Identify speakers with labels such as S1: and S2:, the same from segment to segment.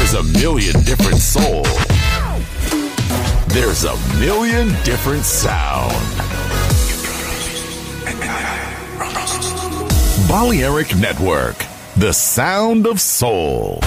S1: There's a million different soul. There's a million different sound. Balearic Network, the sound of soul.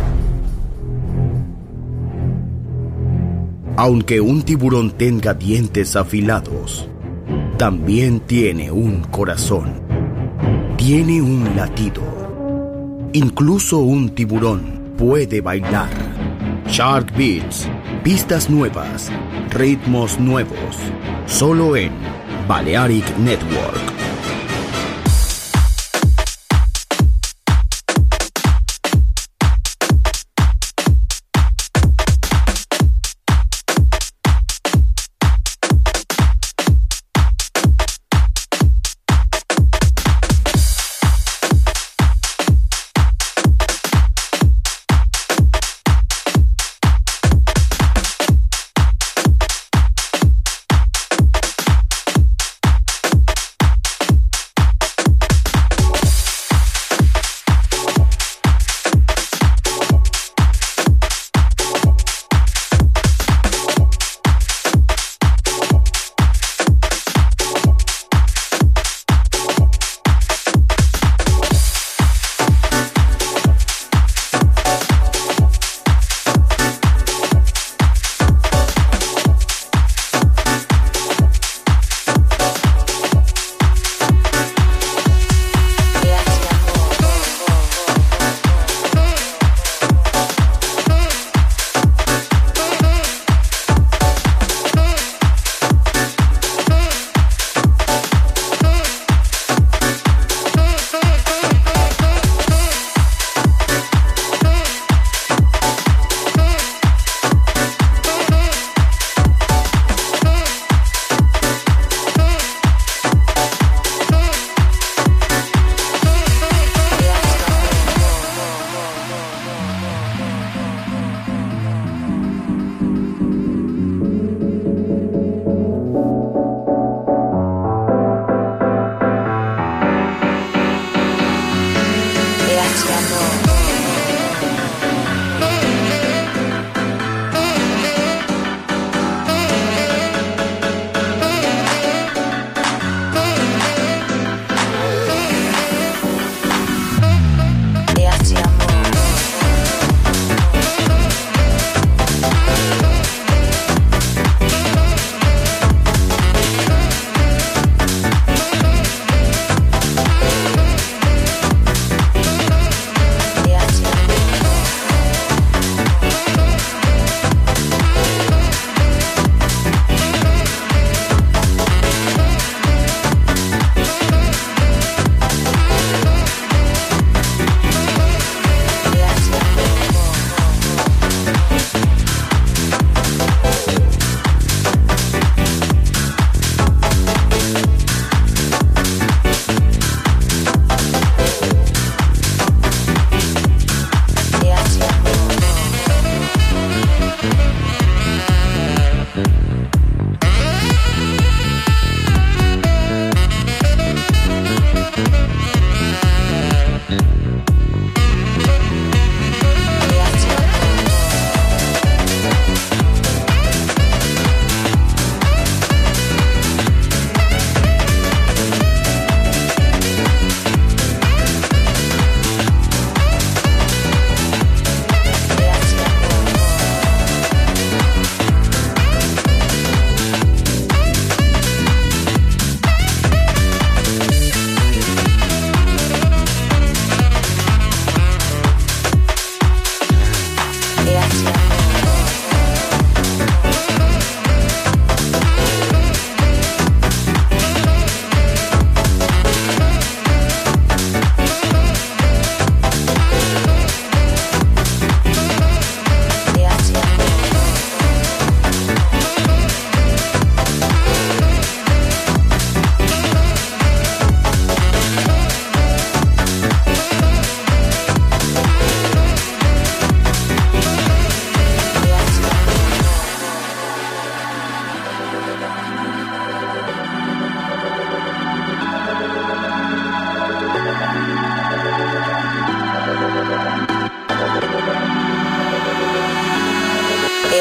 S2: Aunque un tiburón tenga dientes afilados, también tiene un corazón. Tiene un latido. Incluso un tiburón puede bailar. Shark Beats, pistas nuevas, ritmos nuevos, solo en Balearic Network.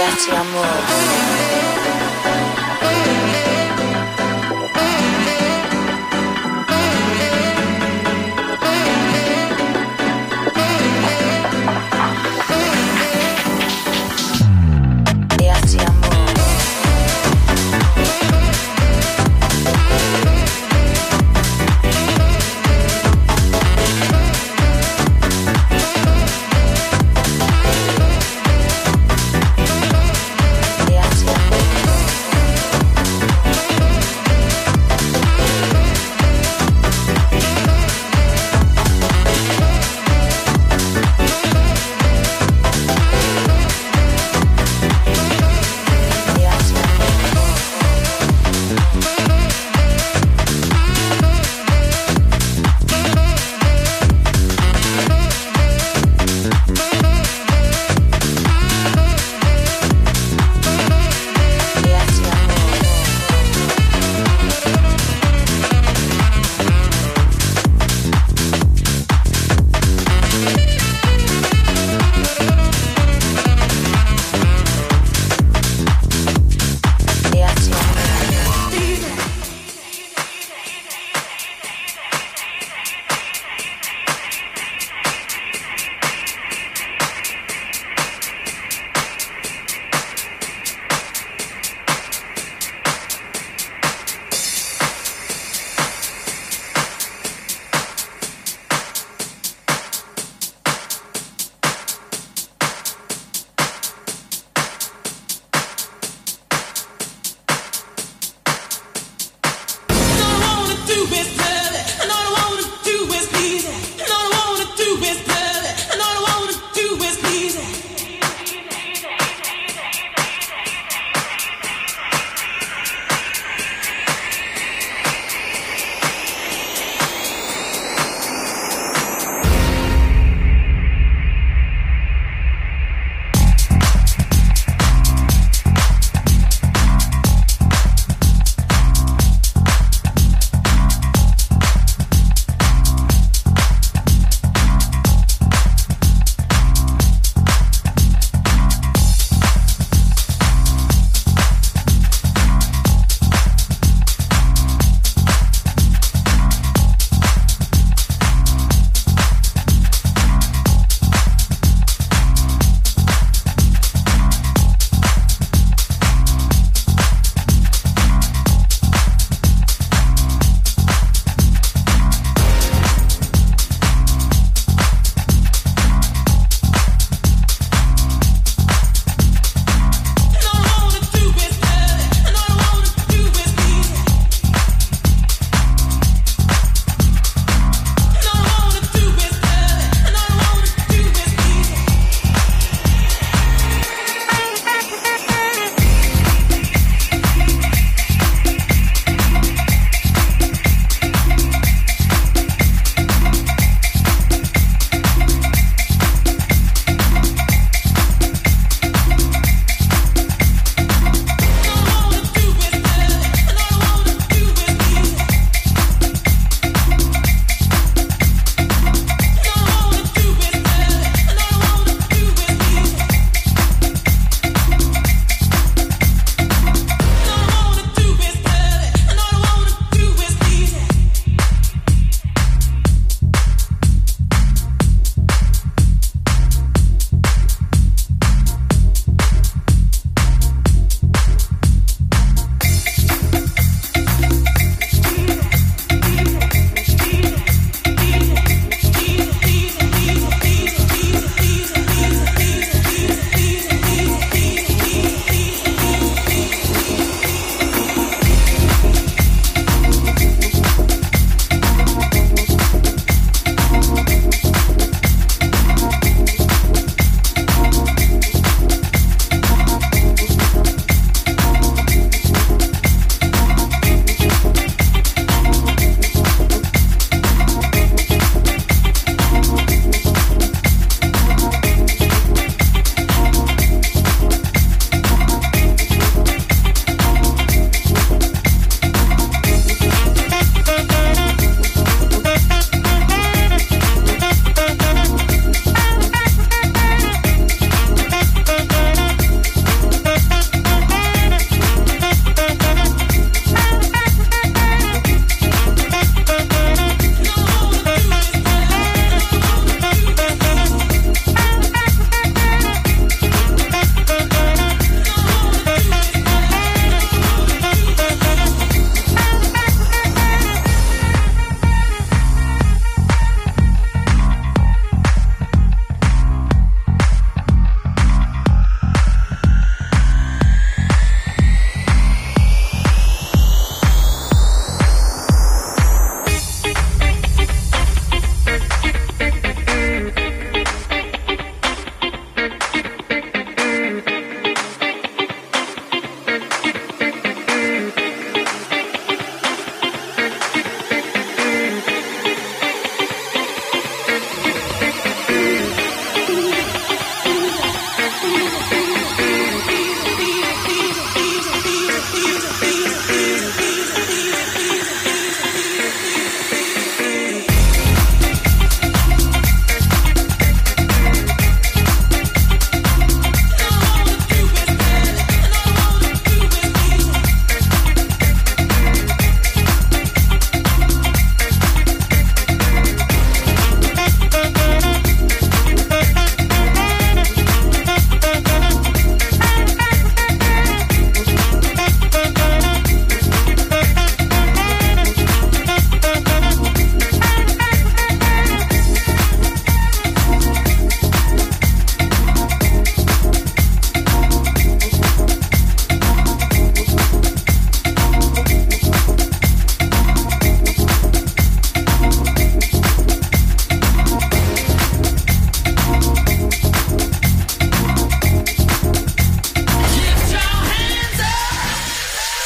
S3: Déjate amor. Déjate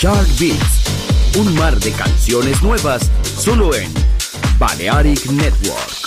S2: Shark Beats, un mar de canciones nuevas solo en Balearic Network.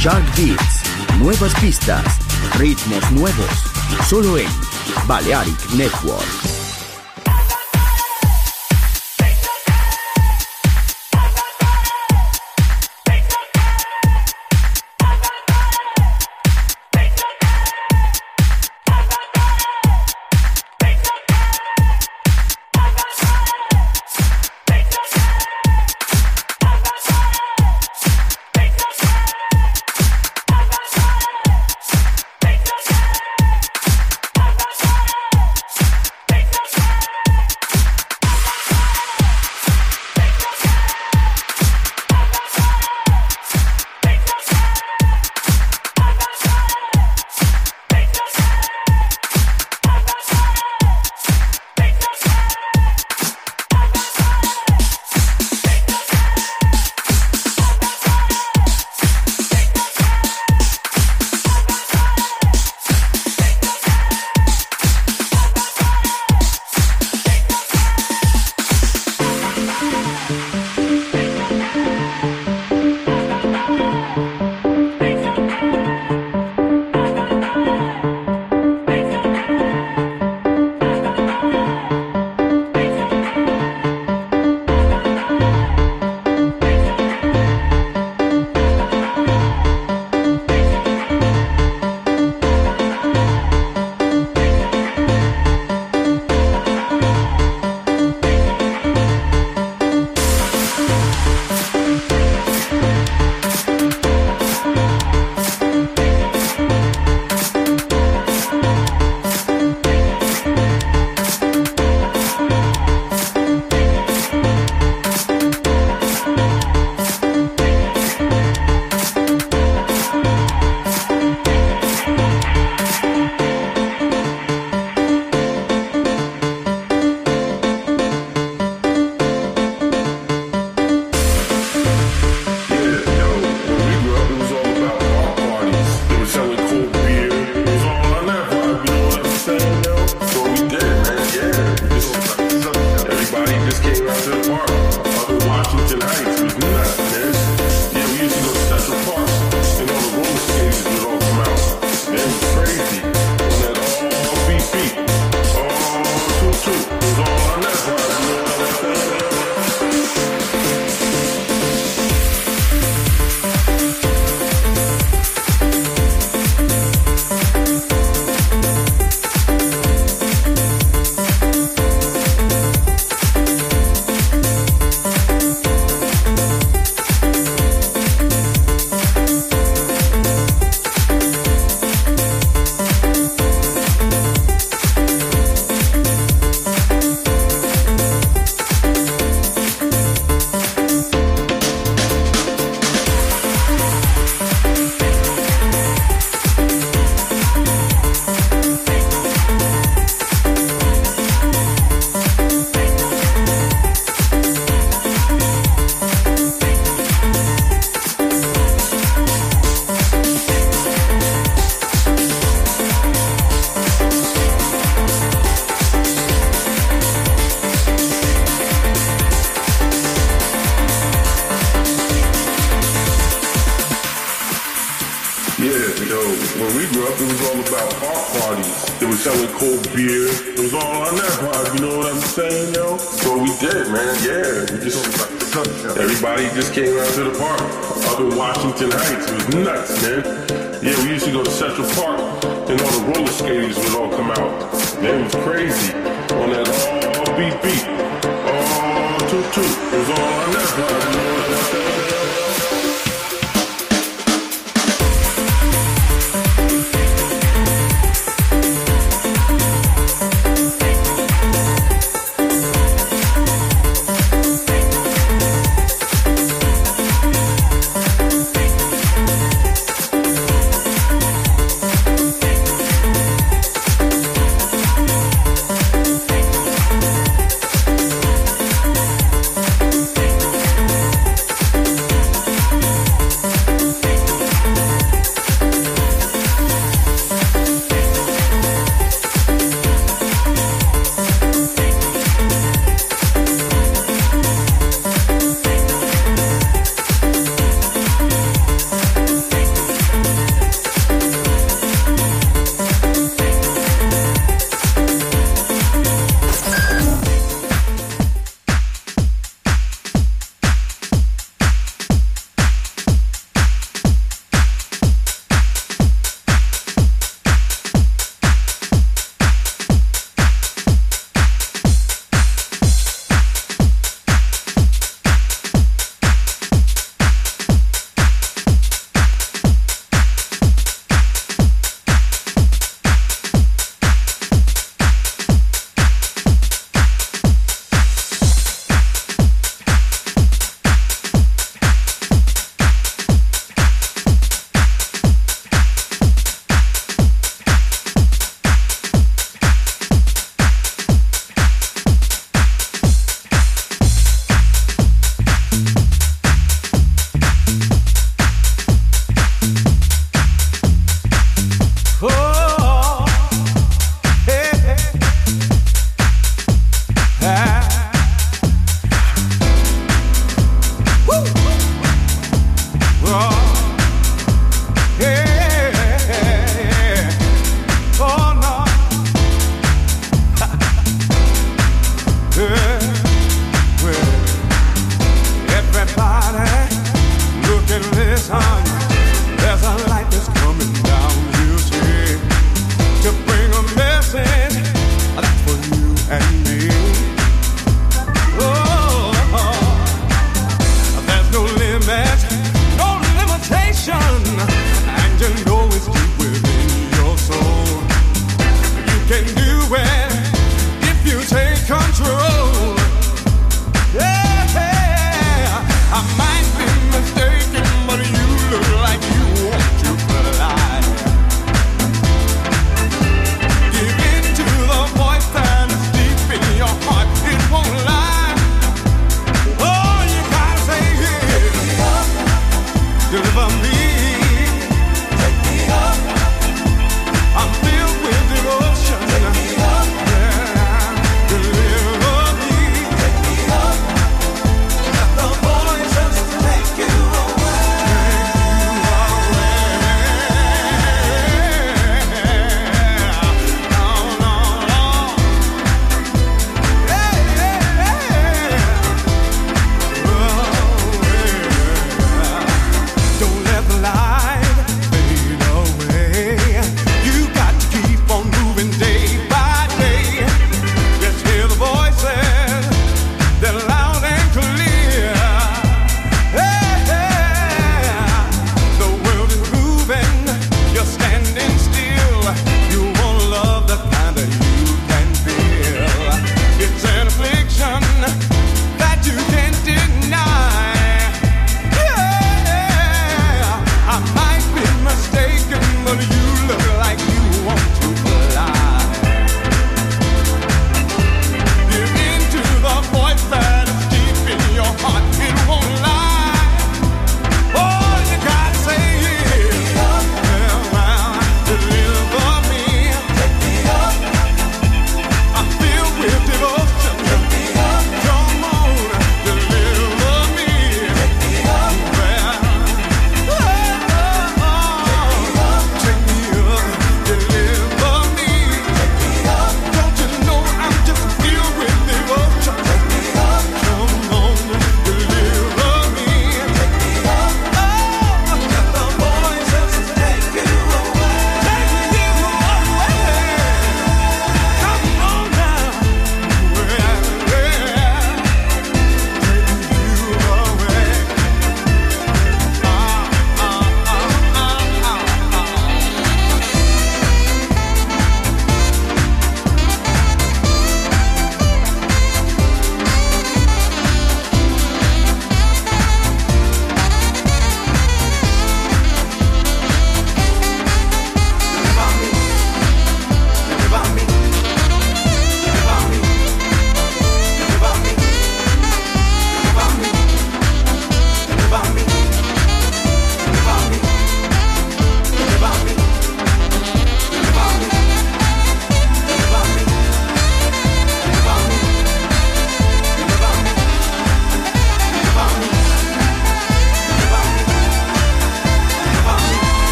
S2: Shark Beats, nuevas pistas, ritmos nuevos, solo en Balearic Network.
S4: When we grew up, it was all about park parties. They were selling cold beer. It was all on that vibe, you know what I'm saying, yo? So we did, man, yeah. We just, everybody just came out to the park up in Washington Heights. It was nuts, man. Yeah, we used to go to Central Park and all the roller skaters would all come out. Man, it was crazy. On that all beat beat. All toot toot. It was all on that vibe, you know what I'm saying?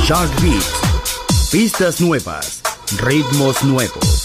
S2: Shark Beats. Pistas nuevas, ritmos nuevos.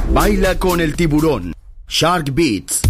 S2: Baila con el tiburón. Shark Beats.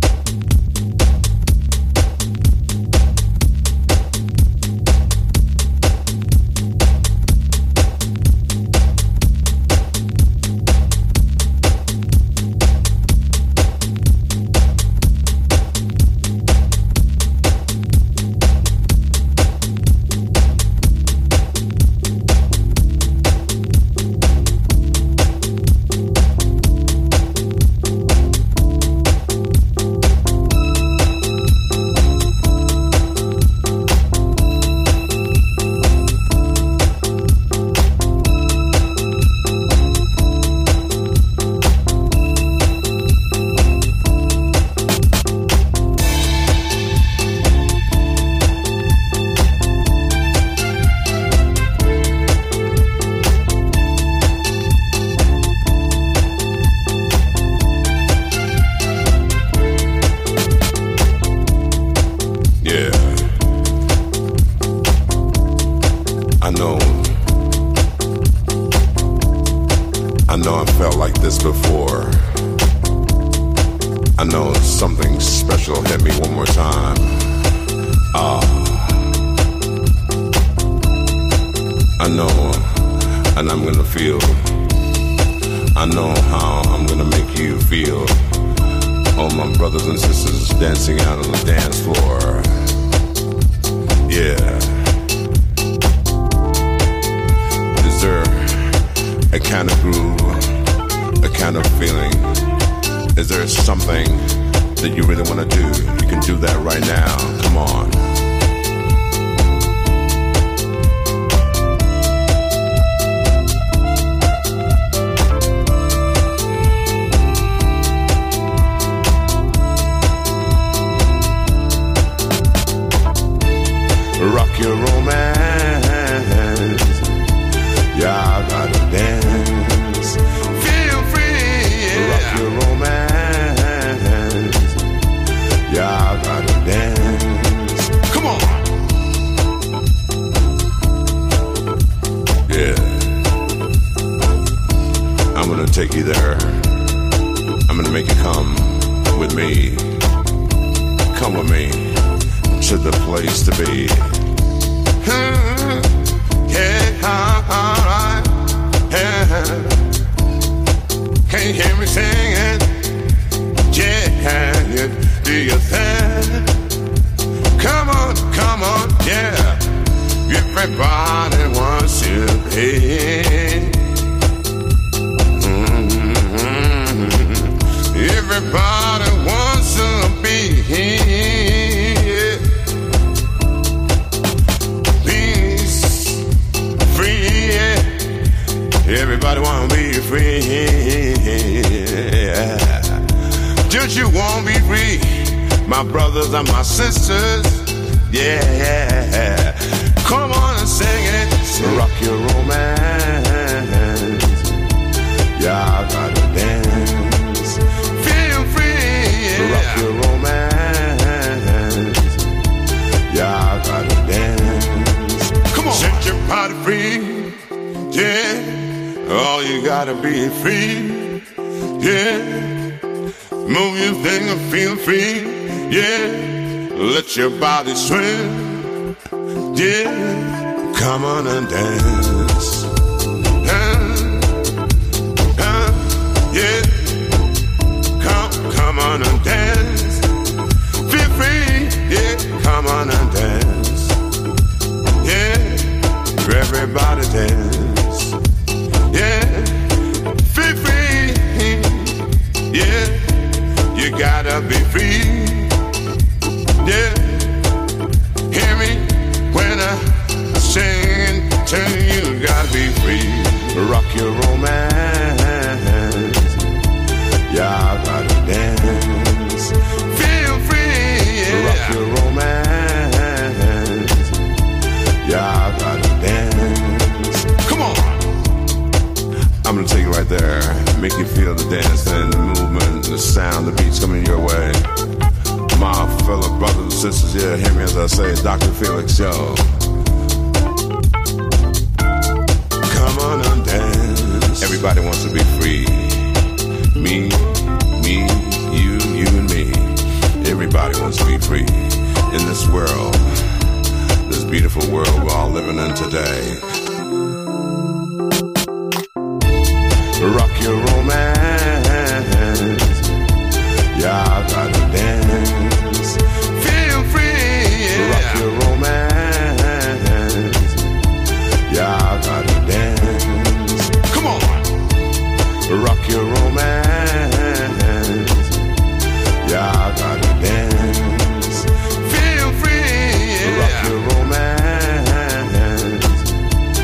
S5: Your body swing, yeah, come on and dance, yeah, come on and dance, feel free, yeah, come on and dance, yeah, everybody dance, yeah, feel free, yeah, you gotta be free. Yeah, hear me when I sing to you, gotta be free. Rock your romance, yeah, gotta dance. Feel free, yeah. Rock your romance, yeah, gotta dance. Come on, I'm gonna take it right there, make you feel the dance and the movement, the sound, the beats coming your way. My fellow brothers and sisters, yeah, hear me as I say, Dr. Felix, yo. Come on and dance. Everybody wants to be free. woman today. Rock your romance. Y'all gotta dance. Feel free. Yeah. Rock your romance. Y'all gotta dance. Come on. Rock your romance. Y'all gotta dance. Feel free. Yeah. Rock your romance.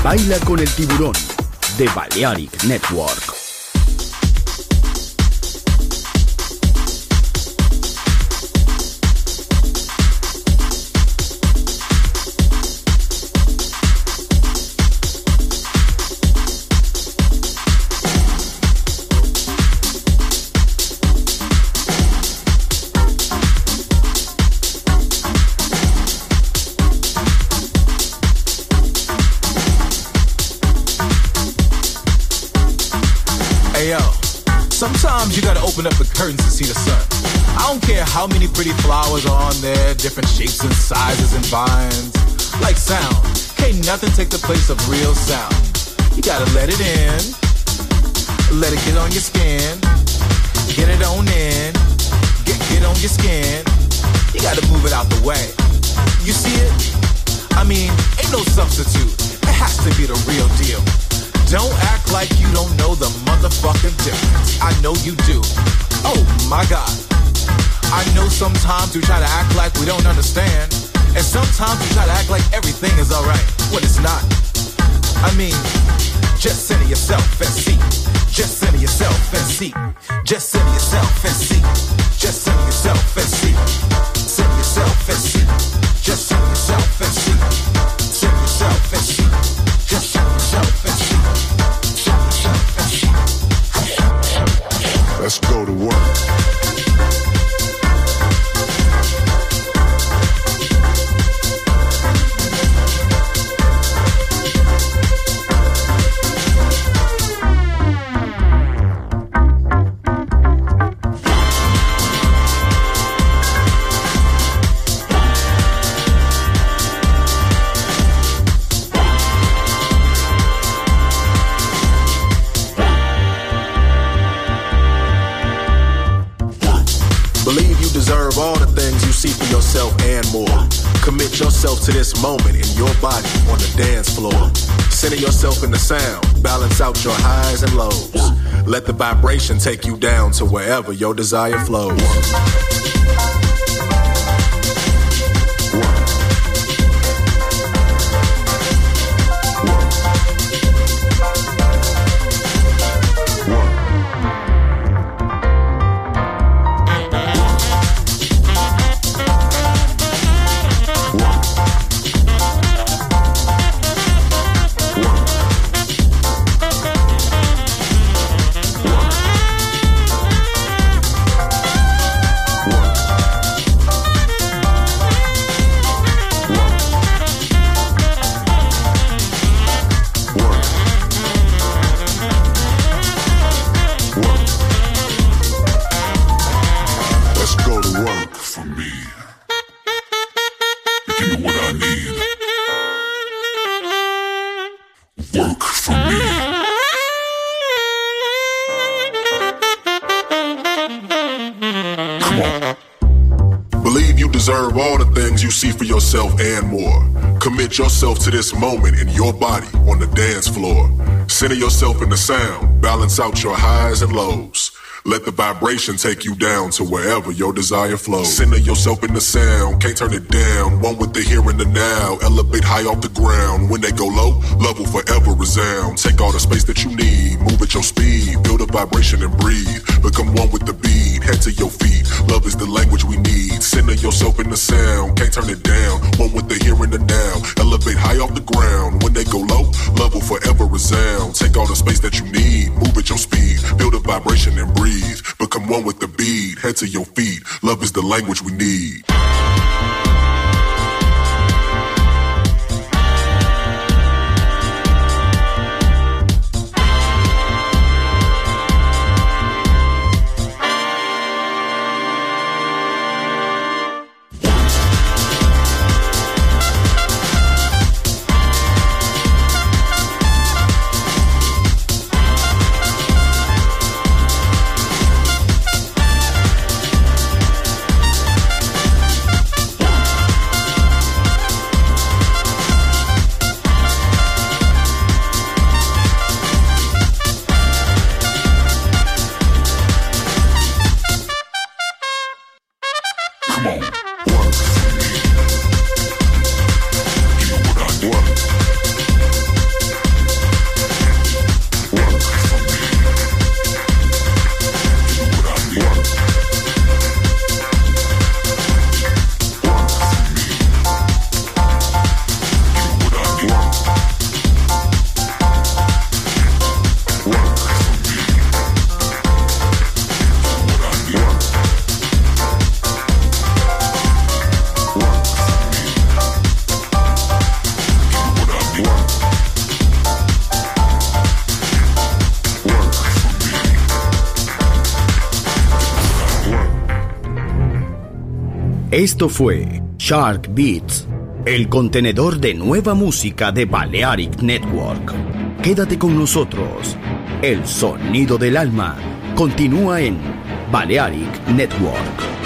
S2: Baila con el tiburón de Balearic Network.
S6: Sometimes you gotta open up the curtains to see the sun. I don't care how many pretty flowers are on there, different shapes and sizes and vines. Like sound, can't nothing take the place of real sound. You gotta let it in, let it get on your skin, get it on in, get on your skin. You gotta move it out the way. You see it? I mean, ain't no substitute. It has to be the real deal. Don't act like you don't know the motherfucking difference. I know you do. Oh my God. I know sometimes we try to act like we don't understand. And sometimes we try to act like everything is alright when it's not. I mean, just center yourself and see. Just center yourself and see. Just center yourself and see. Just center yourself and see. Center yourself and see. Just center yourself and see. Center yourself and see. Just center yourself and see.
S5: Let's go to work.
S7: All the things you see for yourself and more. Commit yourself to this moment in your body on the dance floor. Center yourself in the sound. Balance out your highs and lows. Let the vibration take you down to wherever your desire flows. You see for yourself and more. Commit yourself to this moment in your body on the dance floor. Center yourself in the sound. Balance out your highs and lows. Let the vibration take you down to wherever your desire flows. Center yourself in the sound, can't turn it down. One with the here and the now. Elevate high off the ground. When they go low, love will forever resound. Take all the space that you need, move at your speed. Build a vibration and breathe. Become one with the beat, head to your feet. Love is the language we need. Center yourself in the sound, can't turn it down. One with the here and the now. Elevate high off the ground. When they go low, love will forever resound. Take all the space that you need, move at your speed. Build a vibration and breathe. Become one with the beat, head to your feet. Love is the language we need.
S2: Esto fue Shark Beats, el contenedor de nueva música de Balearic Network. Quédate con nosotros. El sonido del alma continúa en Balearic Network.